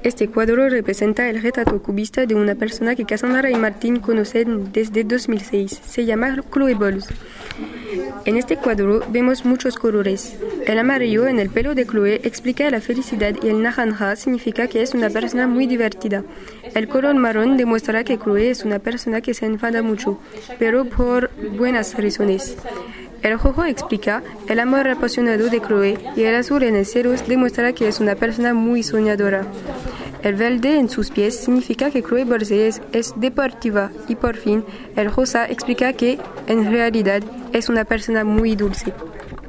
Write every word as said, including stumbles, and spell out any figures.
Este cuadro representa el retrato cubista de una persona que Cassandra y Martín conocen desde dos mil seis. Se llama Chloe Bowles. En este cuadro vemos muchos colores. El amarillo en el pelo de Chloe explica la felicidad y el naranja significa que es una persona muy divertida. El color marrón demuestra que Chloe es una persona que se enfada mucho, pero por buenas razones. El rojo explica el amor apasionado de Chloe y el azul en el cielo demuestra que es una persona muy soñadora. El verde en sus pies significa que Chloe Bowles es, es deportiva y por fin el rosa explica que en realidad es una persona muy dulce.